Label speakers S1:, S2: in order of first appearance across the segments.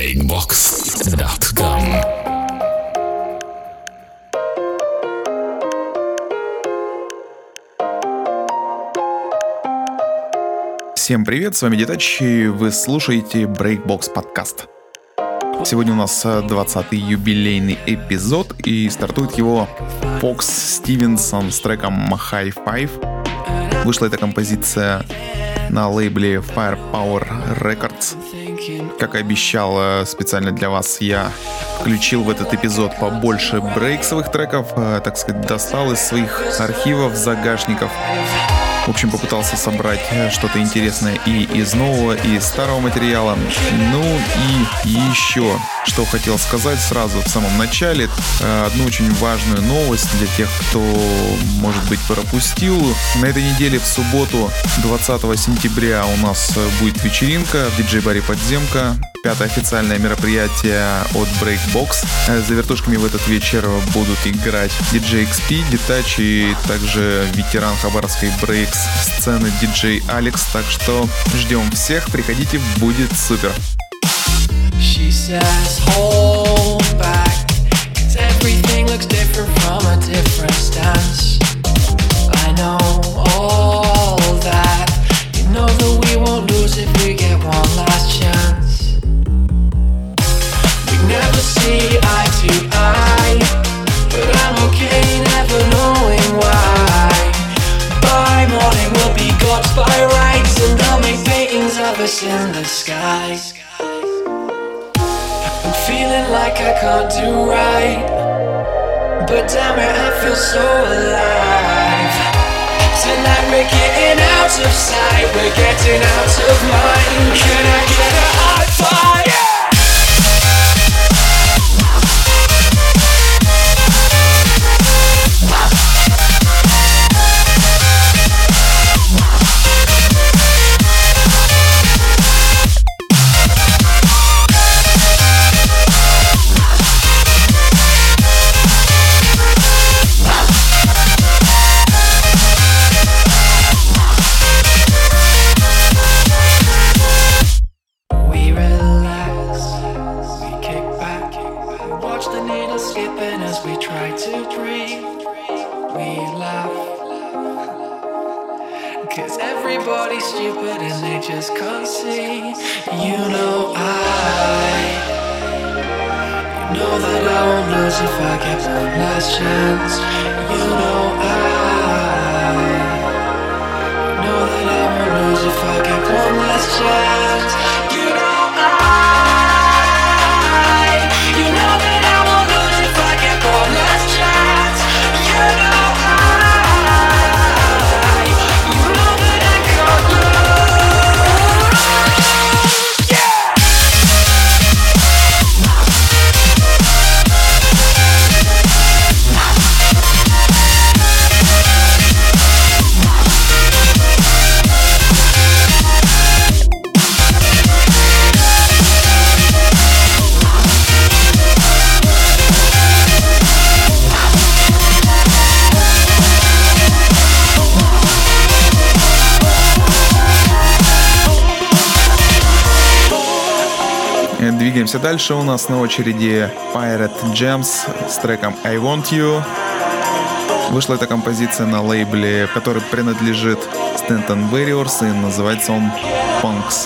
S1: breakbox.com.
S2: Всем привет, с вами Детач, и вы слушаете Breakbox подкаст. Сегодня у нас 20-й юбилейный эпизод, и стартует его Фокс Стивенсон с треком High Five. Вышла эта композиция на лейбле Firepower Records. Как и обещал, специально для вас я включил в этот эпизод побольше брейксовых треков, так сказать, достал из своих архивов, загашников. В общем, попытался собрать что-то интересное и из нового, и из старого материала. Ну и еще, что хотел сказать сразу в самом начале. Одну очень важную новость для тех, кто, может быть, пропустил. На этой неделе в субботу, 20 сентября, у нас будет вечеринка в диджей-баре «Подземка». 5-е официальное мероприятие от Breakbox. За вертушками в этот вечер будут играть DJ XP, Детач и также ветеран хабаровской брейкс-сцены DJ Алекс. Так что ждем всех, приходите, будет супер.
S3: She says, hold back, 'cause everything looks different from a different stance. I know all that. You know that we won't lose if we get one last chance. Never see eye to eye, but I'm okay never knowing why. By morning we'll be gods by rights, and they'll make paintings of us in the sky. I'm feeling like I can't do right, but damn it, I feel so alive. Tonight we're getting out of sight, we're getting out of mind. Can I get a high five? Yeah!
S2: Двигаемся дальше. У нас на очереди Pirate Gems с треком I Want You. Вышла эта композиция на лейбле, который принадлежит Stanton Warriors, и называется он Punks.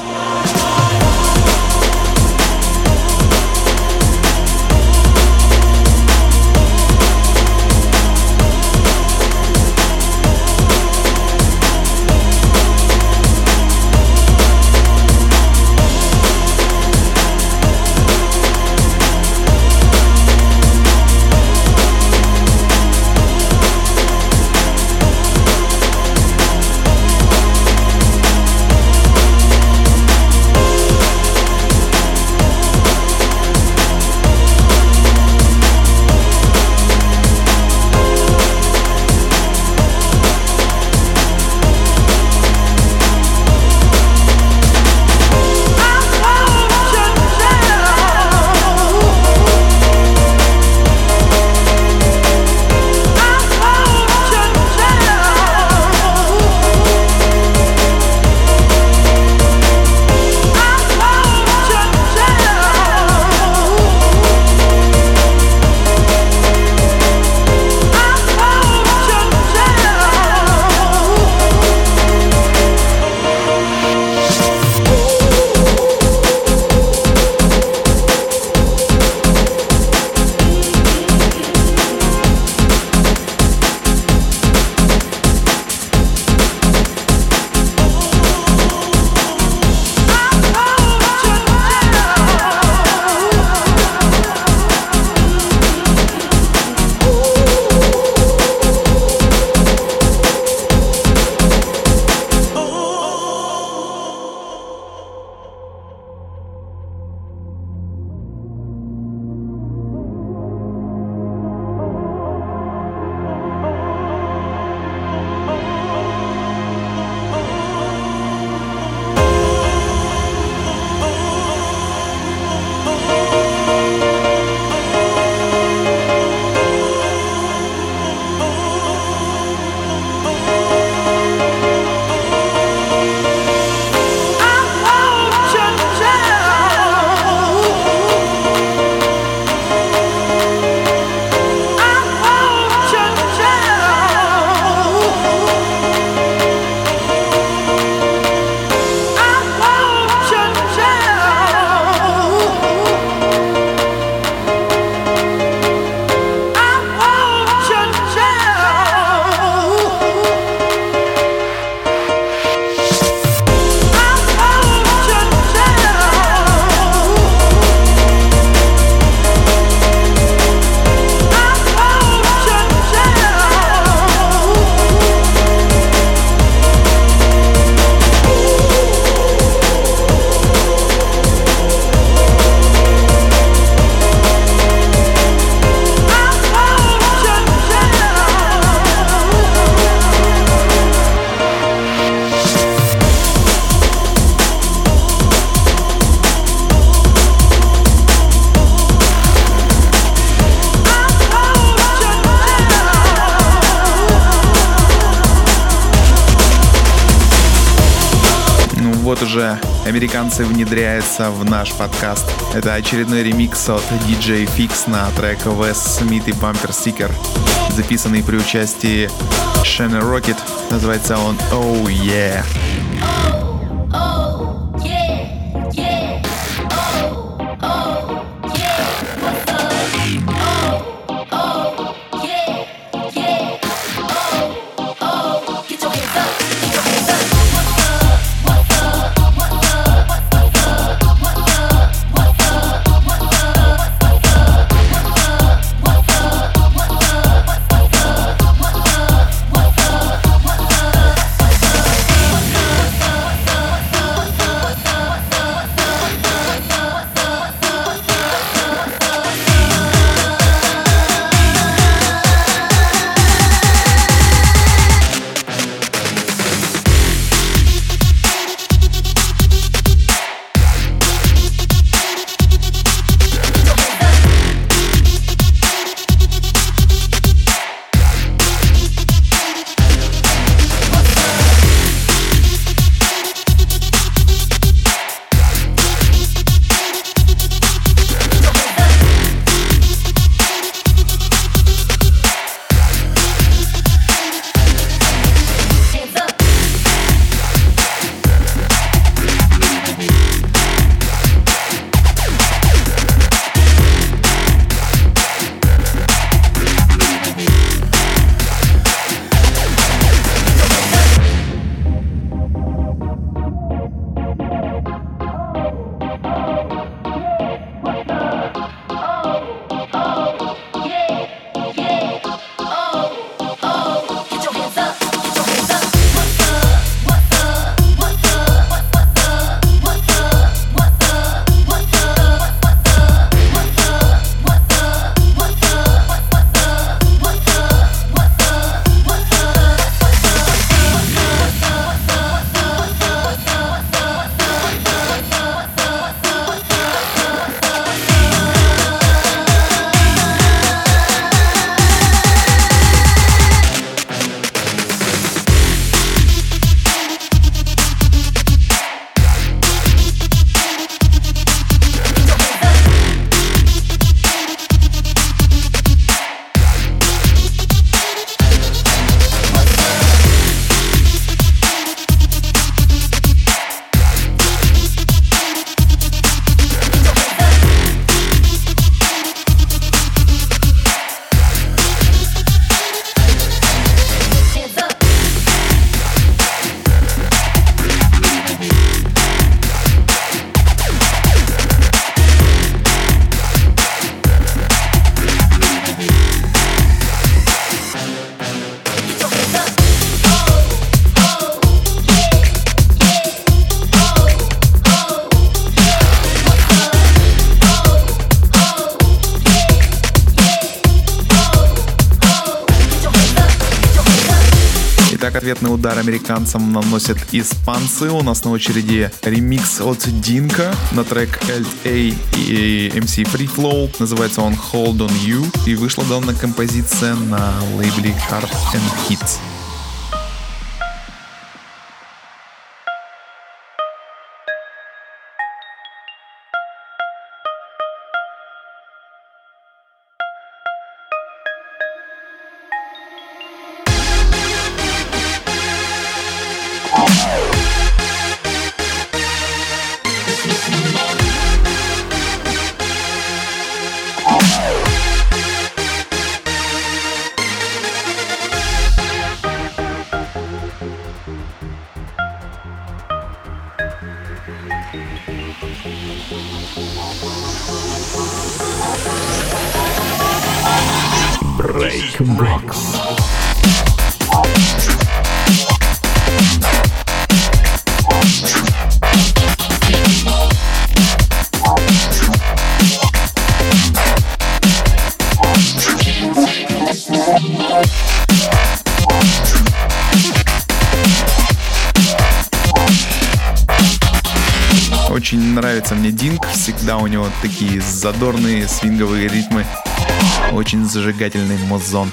S2: уже американцы внедряются в наш подкаст. Это очередной ремикс от DJ Fix на трек Wes Smith и Bumper Sticker, записанный при участии Shana Rocket. Называется он Oh Yeah. Итак, ответный удар американцам наносят испанцы. У нас на очереди ремикс от Динка на трек LA и MC Free Flow. Называется он Hold On You. И вышла данная композиция на лейбле Hard and Hits.
S1: Breakbox.
S2: Очень нравится мне Динк, всегда у него такие задорные свинговые ритмы, очень зажигательный музон.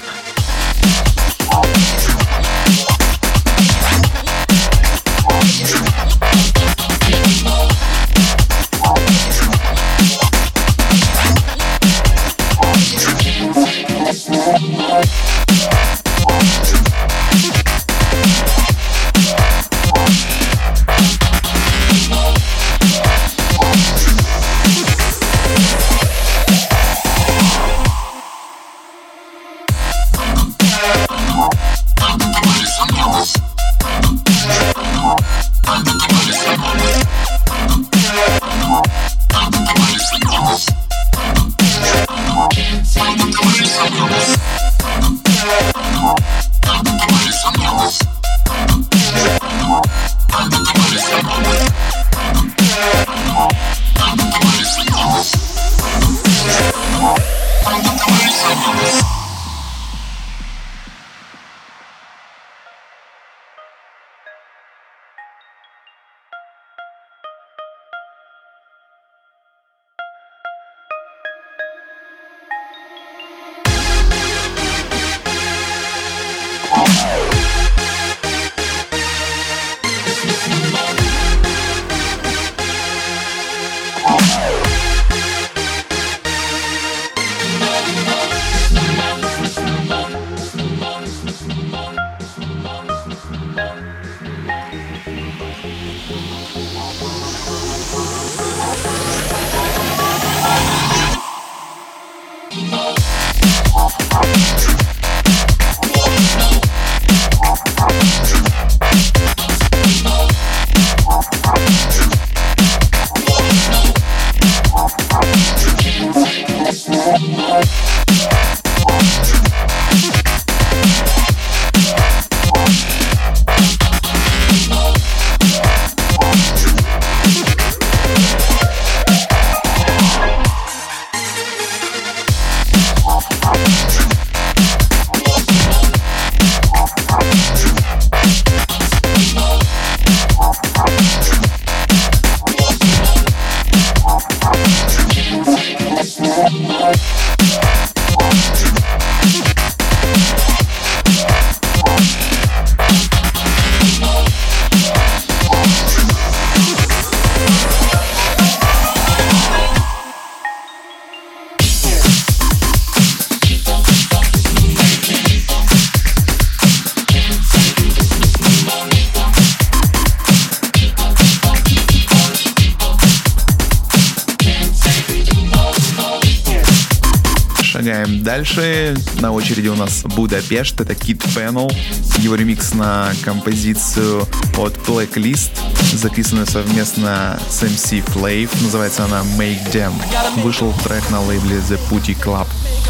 S2: Шагаем дальше. На очереди у нас Будапешт. Это Kid Panel. Его ремикс на композицию от Blacklist, записанную совместно с MC Flav. Называется она Make Them. Вышел трек на лейбле The Putty Club.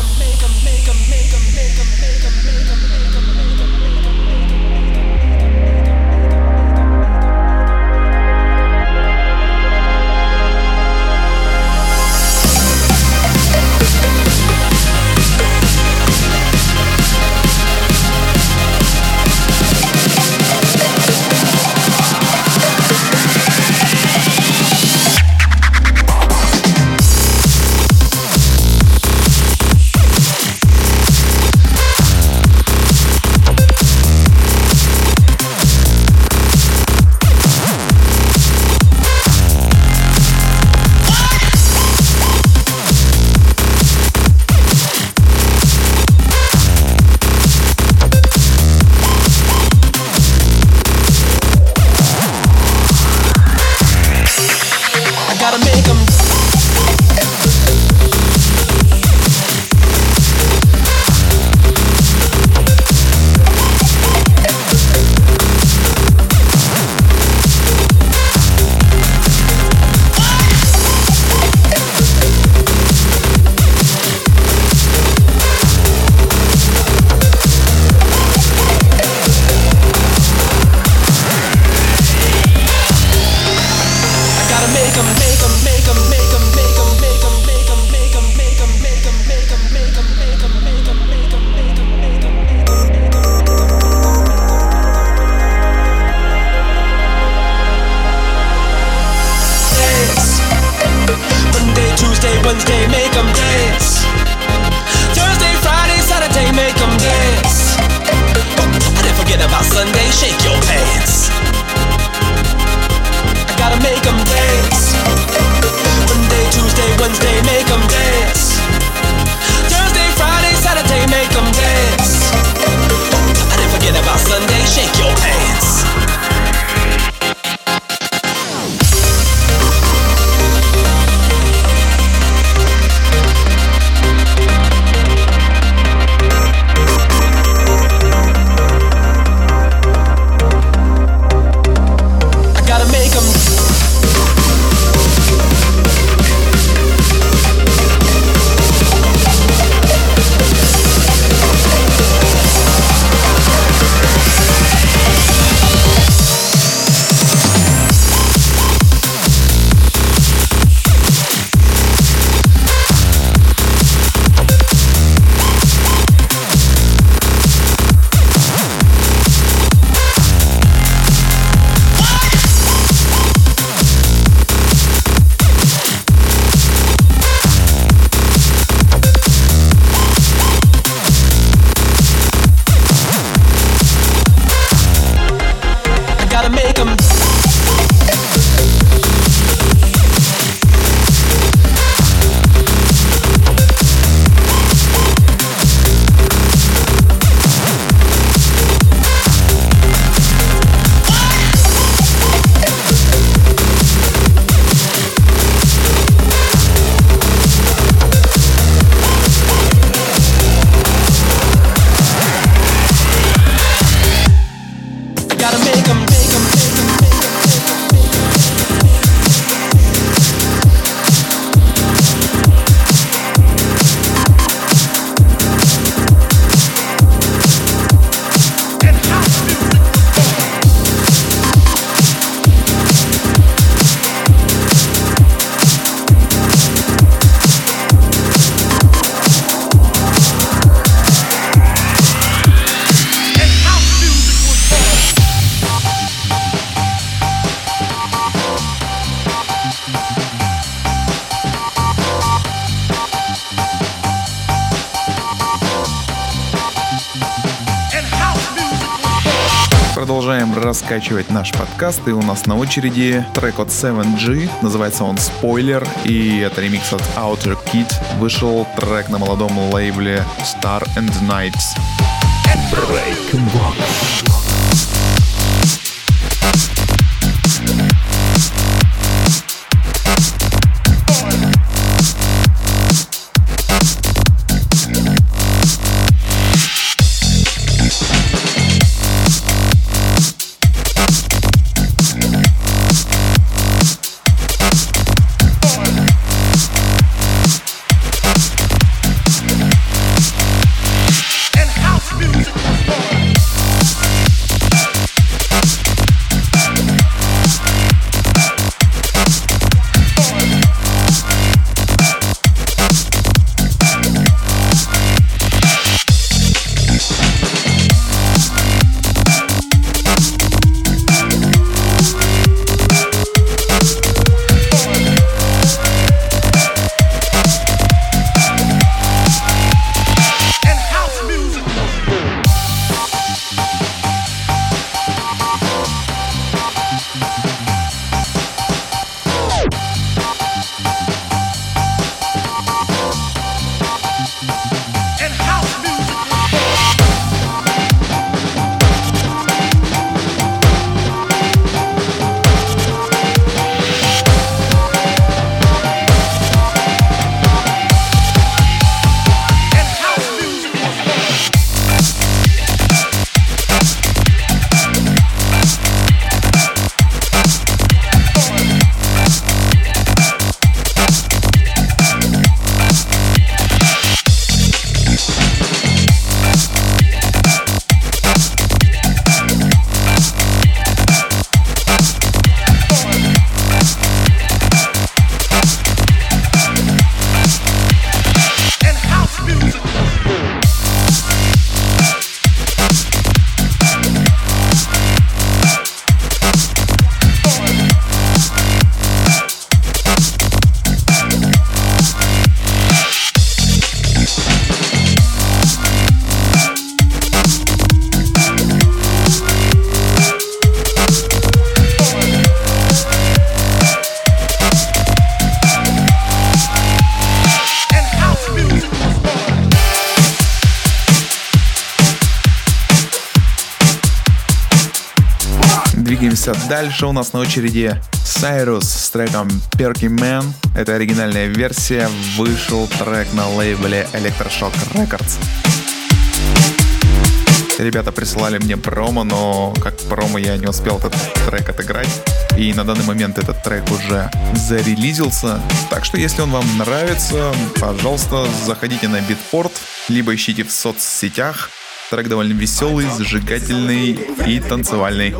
S2: Продолжаем раскачивать наш подкаст, и у нас на очереди трек от 7G, называется он Spoiler, и это ремикс от Outer Kid. Вышел трек на молодом лейбле Star and Nights. Breakbox. Двигаемся дальше. У нас на очереди Cyrus с треком Perky Man. Это оригинальная версия. Вышел трек на лейбле Electroshock Records. Ребята присылали мне промо, но как промо я не успел этот трек отыграть. И на данный момент этот трек уже зарелизился. Так что если он вам нравится, пожалуйста, заходите на Beatport, либо ищите в соцсетях. Трек довольно веселый, зажигательный и танцевальный.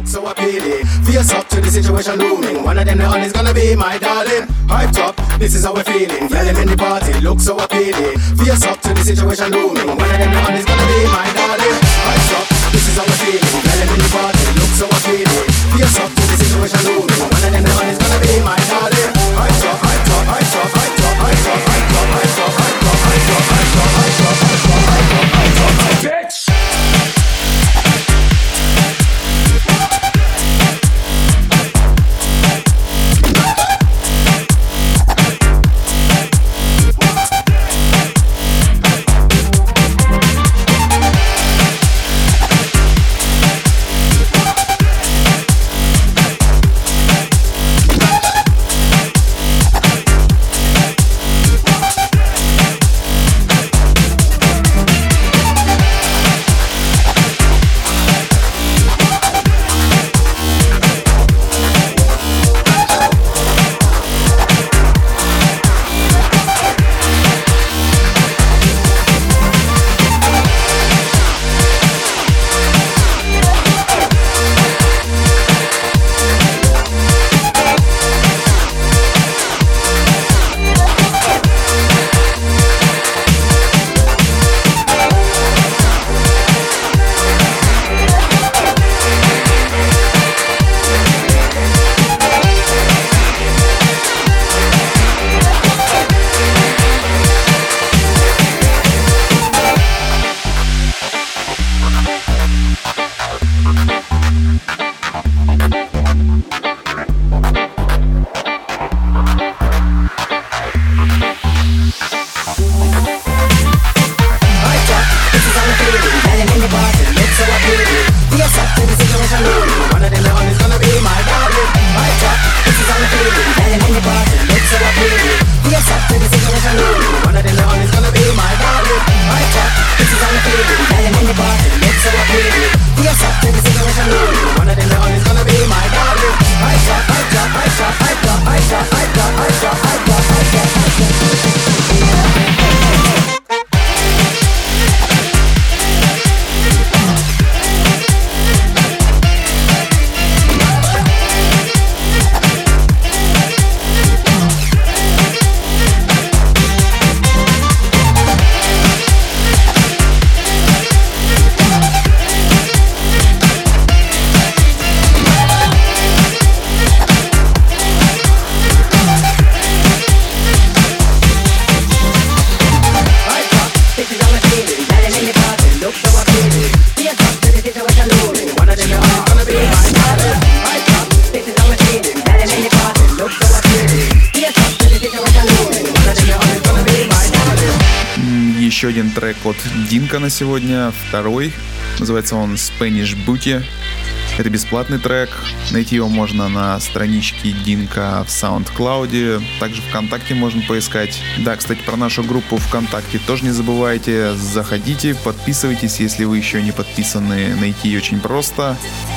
S2: Еще один трек от Динка на сегодня, второй. Называется он Spanish Booty. Это бесплатный трек. Найти его можно на страничке Динка в SoundCloud. Также ВКонтакте можно поискать. Да, кстати, про нашу группу ВКонтакте тоже не забывайте. Заходите, подписывайтесь, если вы еще не подписаны. Найти ее очень просто.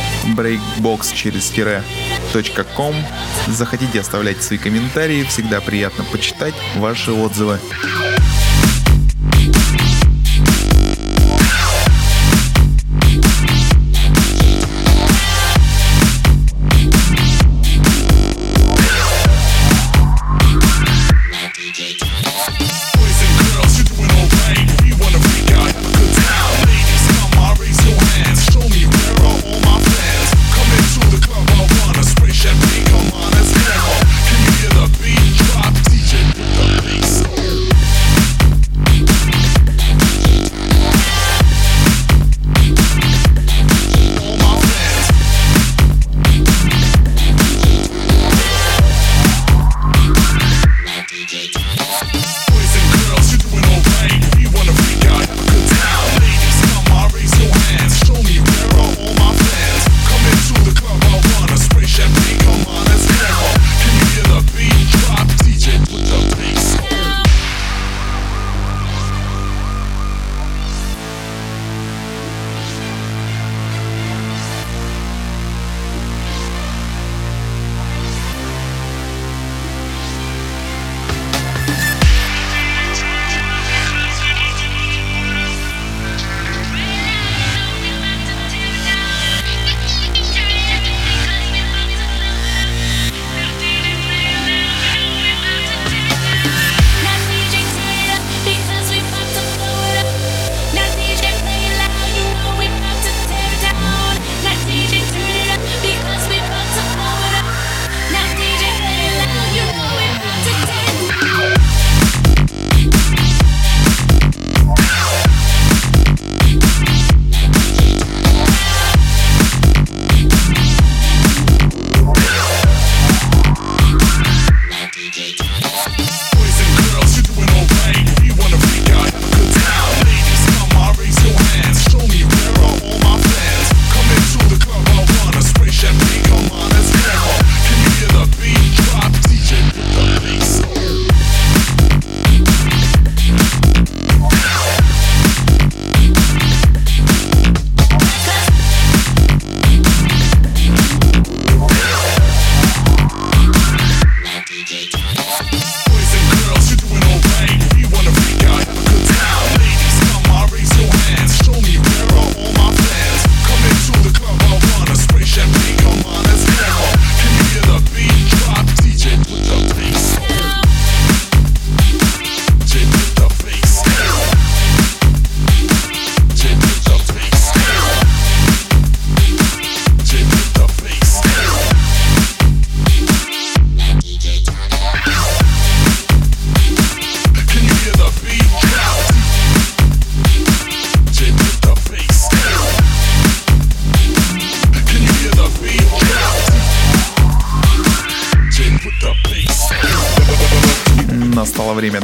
S2: Breakbox через .com. Заходите, оставляйте свои комментарии. Всегда приятно почитать ваши отзывы.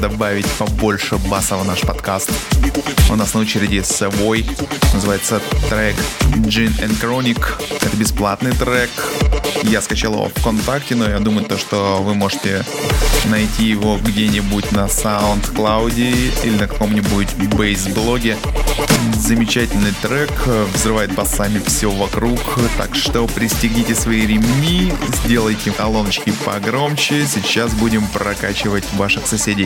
S2: добавить побольше баса в наш подкаст. У нас на очереди Savoy, называется трек Gin and Chronic. Это бесплатный трек. Я скачал его ВКонтакте, но я думаю, что вы можете найти его где-нибудь на SoundCloud или на каком-нибудь бейс-блоге. Замечательный трек, взрывает басами все вокруг, так что пристегните свои ремни, сделайте колоночки погромче, сейчас будем прокачивать ваших соседей.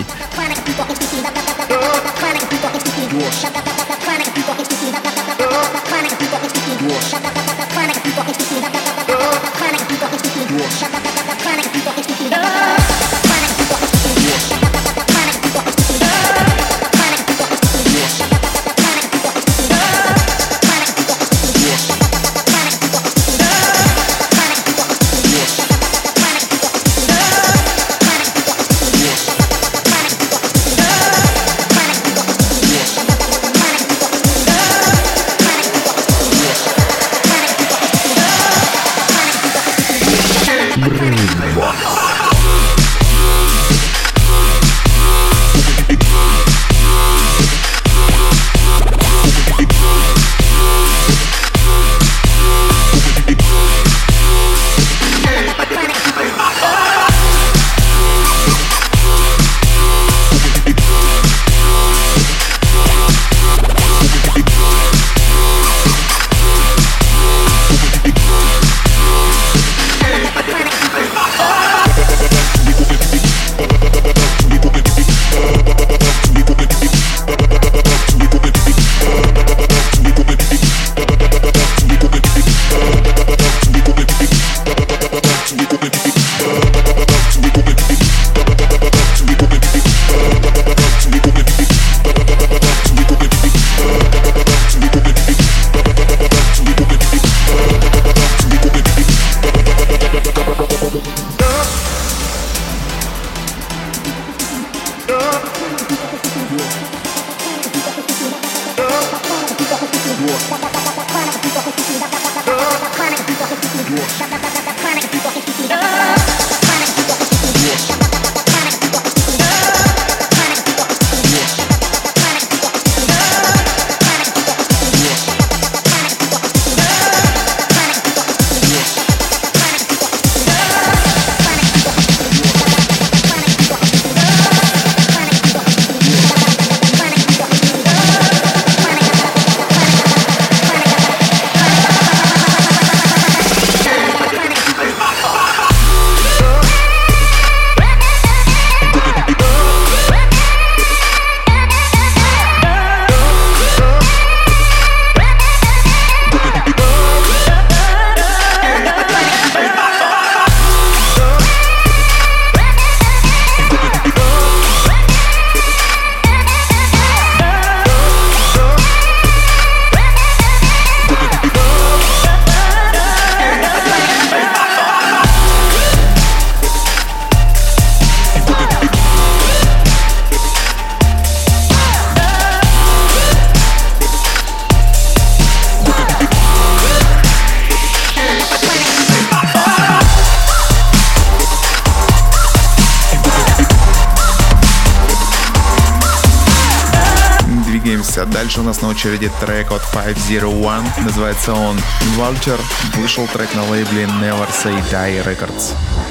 S2: Дальше у нас на очереди трек от 501. Называется он Vulture. Вышел трек на лейбле Never Say Die Records.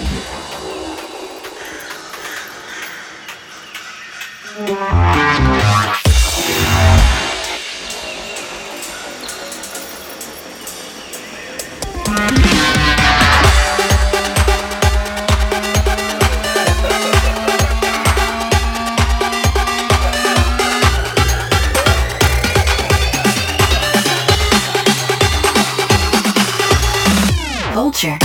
S1: Vulture.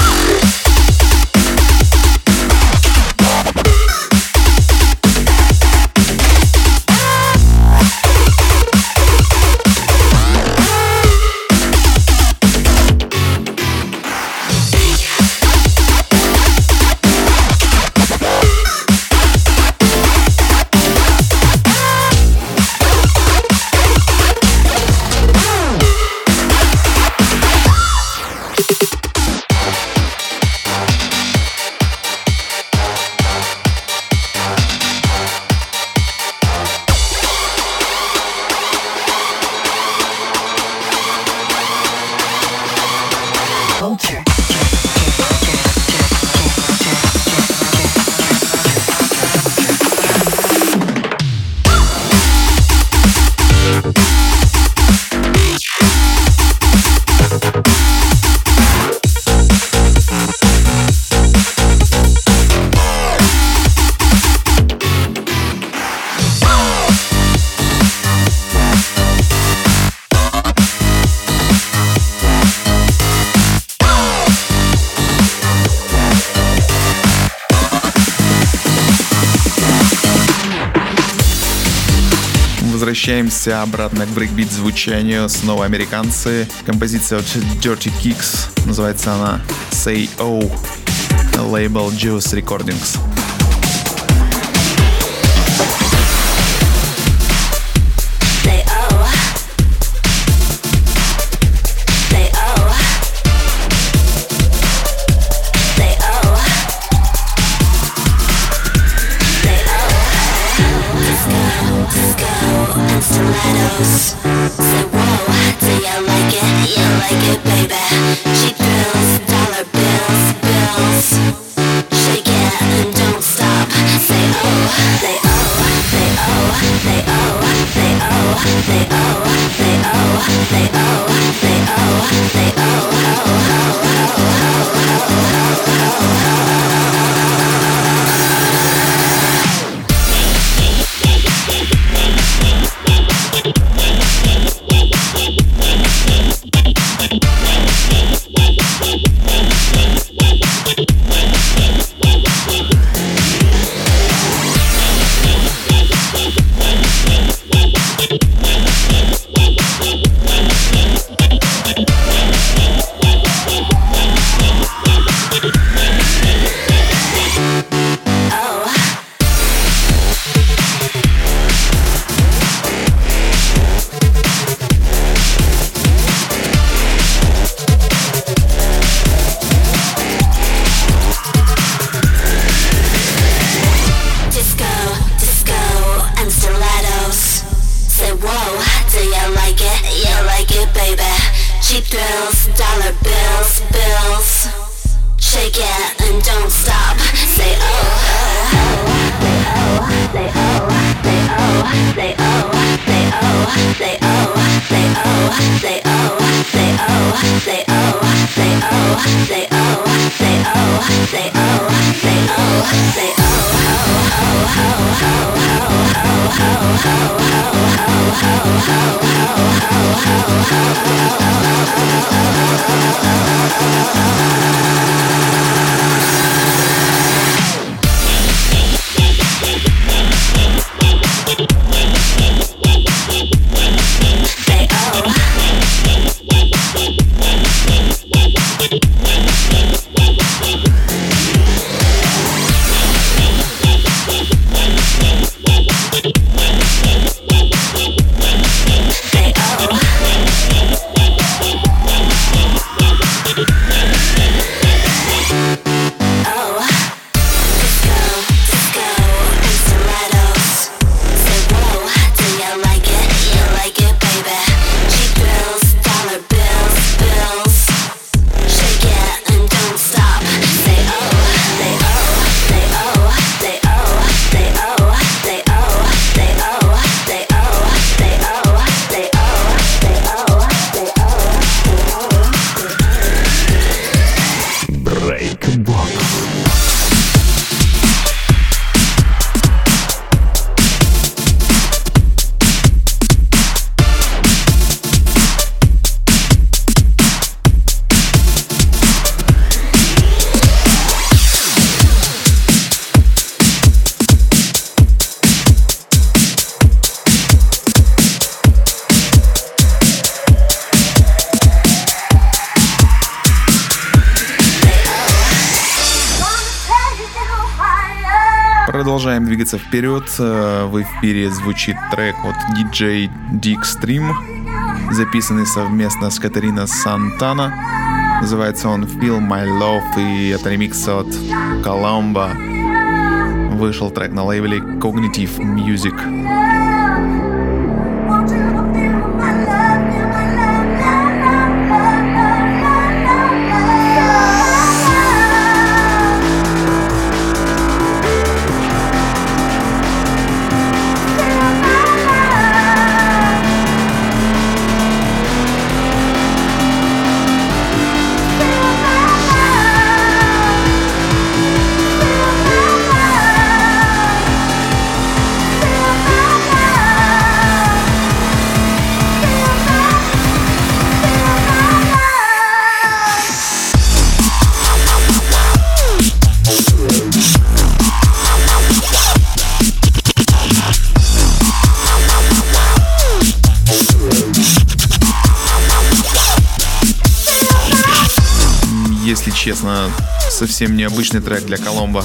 S2: Возвращаемся обратно к брейкбит звучанию. Снова американцы. Композиция от Dirty Kicks. Называется она Say Oh. Лейбл Juice Recordings.
S1: Stilettos. Say whoa, do you like it? You like it, baby. Cheap thrills, dollar bills, bills. Shake it and don't stop. Say oh, say oh, say oh, say oh, say oh, say oh, say oh, say oh, say oh, say oh,
S2: Продолжаем двигаться вперед. В эфире звучит трек от DJ Dickstream, записанный совместно с Катариной Сантана. Называется он Feel My Love, и это ремикс от Colombo. Вышел трек на лейбле Cognitive Music. честно, совсем необычный трек для Коломбо.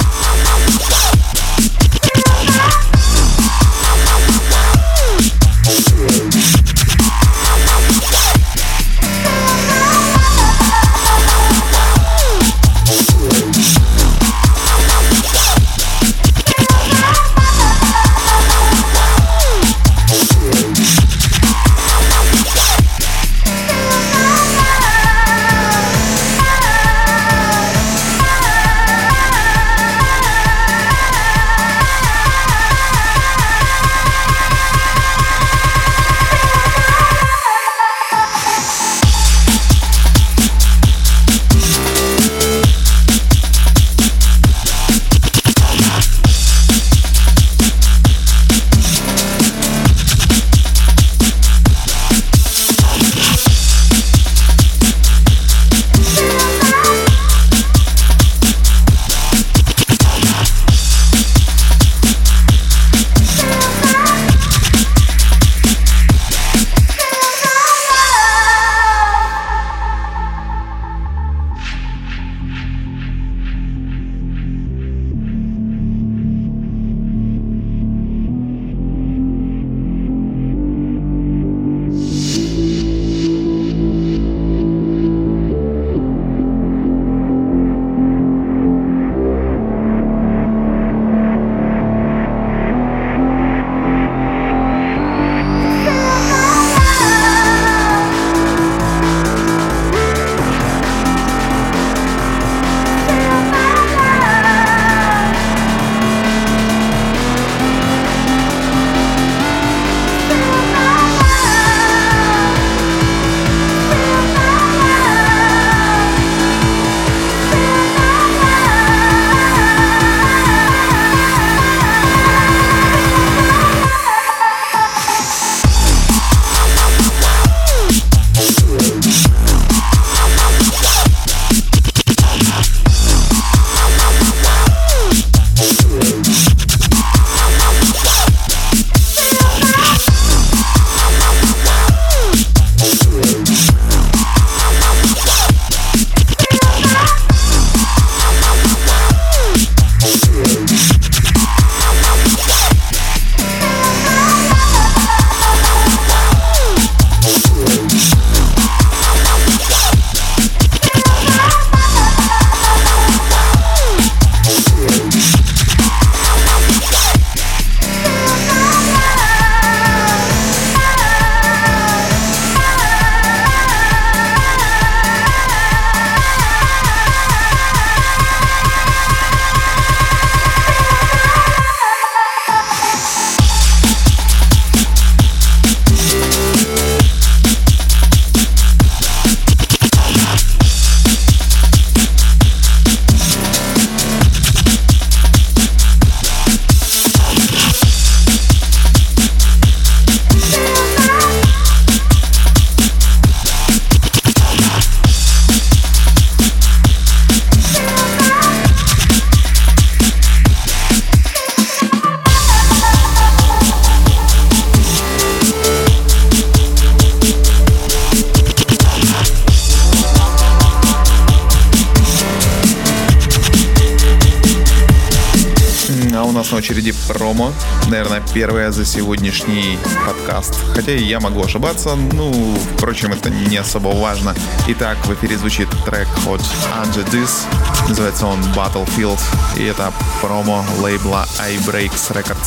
S2: нас на очереди промо. Наверное, первое за сегодняшний подкаст. Хотя и я могу ошибаться, ну, впрочем, это не особо важно. Итак, в эфире звучит трек от Under This. Называется он Battlefield. И это промо лейбла iBreaks Records.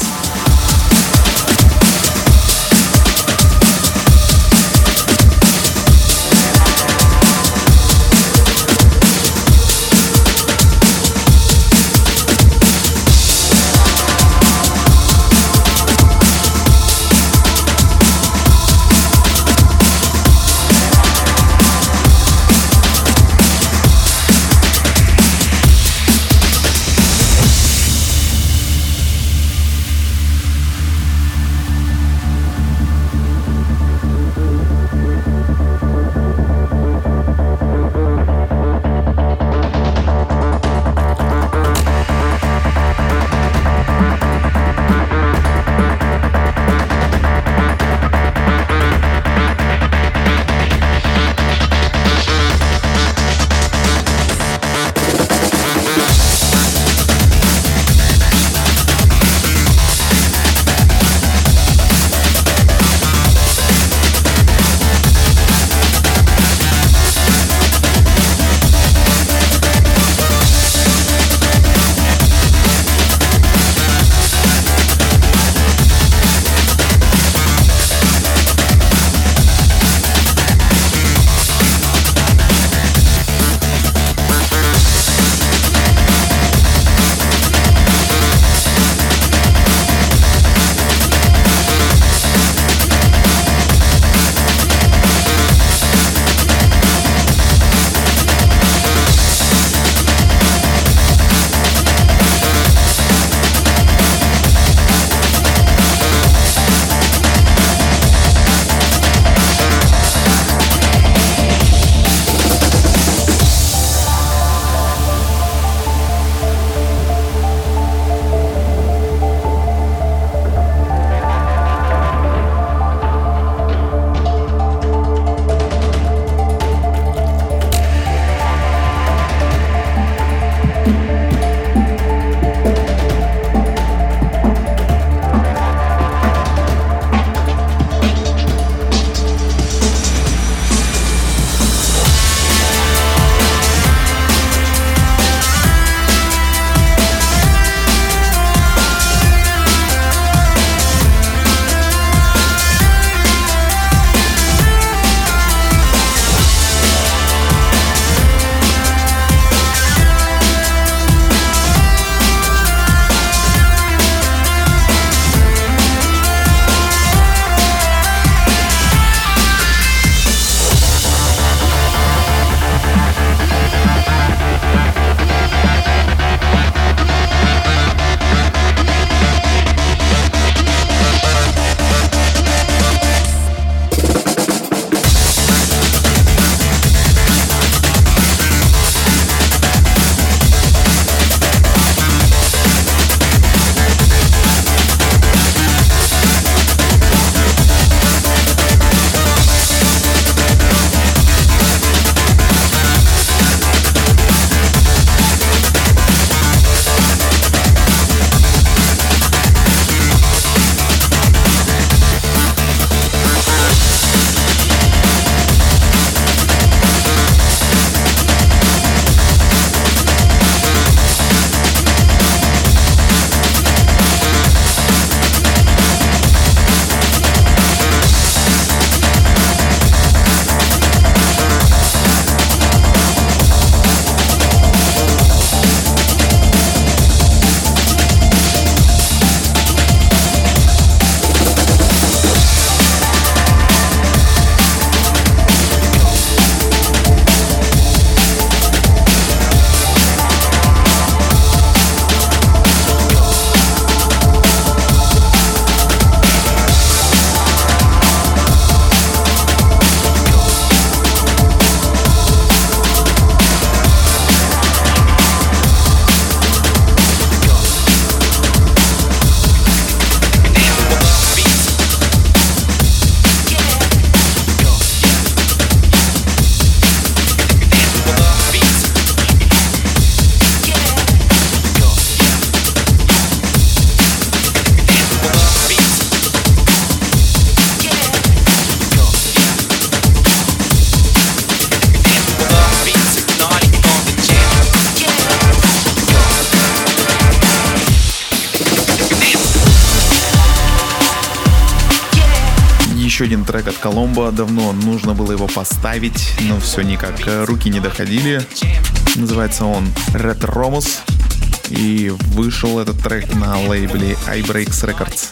S2: Еще один трек от Коломбо. Давно нужно было его поставить, но все никак руки не доходили. Называется он Red Romus. И вышел этот трек на лейбле iBreaks Records.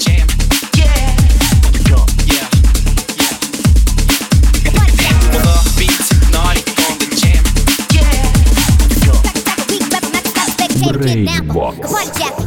S4: Breakbox.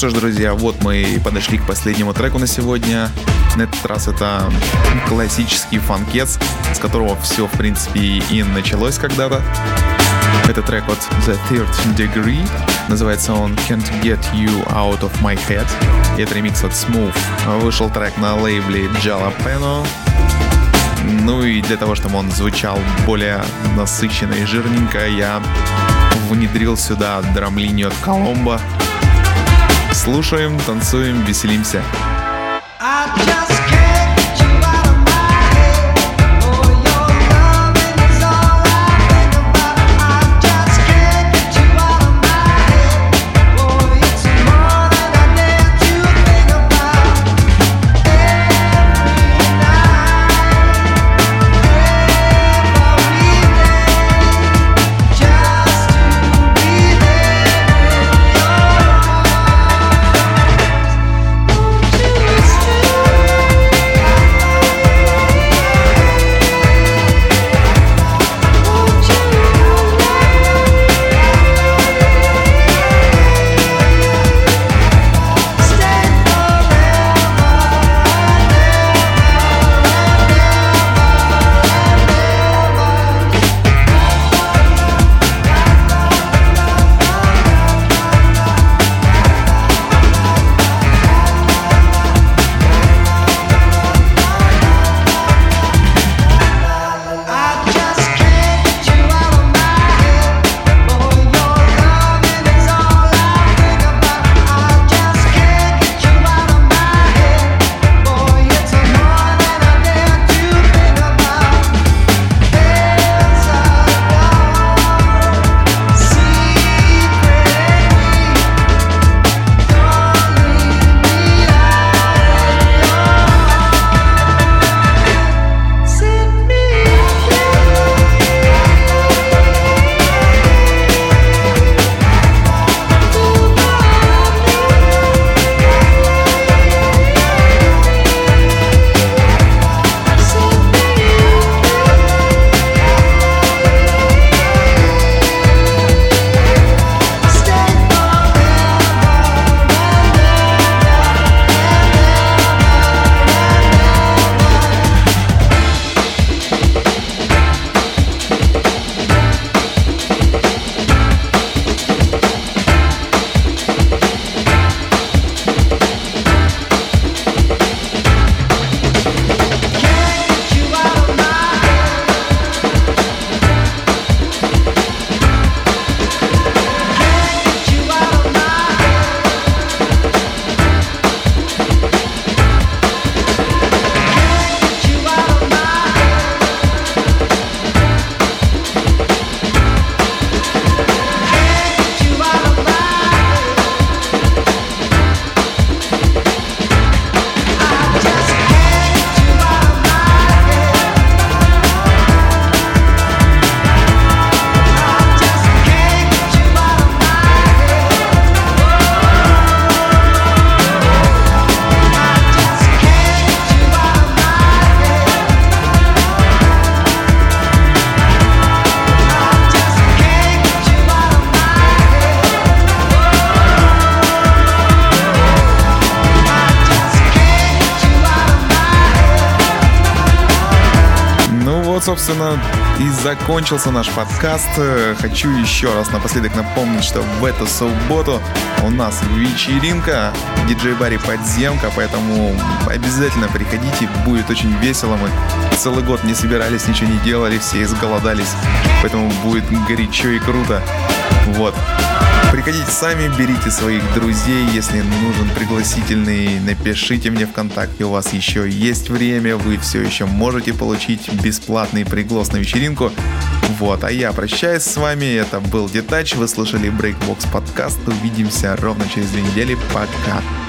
S2: что ж, друзья, вот мы и подошли к последнему треку на сегодня. На этот раз это классический фанкец, с которого все, в принципе, и началось когда-то. Это трек от The Third Degree. Называется он Can't Get You Out of My Head. И это ремикс от Smooth. Вышел трек на лейбле Jalapeno. Ну и для того, чтобы он звучал более насыщенно и жирненько, я внедрил сюда драм-линию от Colombo. Слушаем, танцуем, веселимся. Собственно, и закончился наш подкаст. Хочу еще раз напоследок напомнить, что в эту субботу у нас вечеринка диджей-баре «Подземка», поэтому обязательно приходите, будет очень весело. Мы целый год не собирались, ничего не делали, все изголодались, поэтому будет горячо и круто. Вот. Приходите сами, берите своих друзей, если нужен пригласительный, напишите мне ВКонтакте, у вас еще есть время, вы все еще можете получить бесплатный приглас на вечеринку. Вот, а я прощаюсь с вами, это был Детач, вы слушали Breakbox подкаст, увидимся ровно через 2 недели, пока.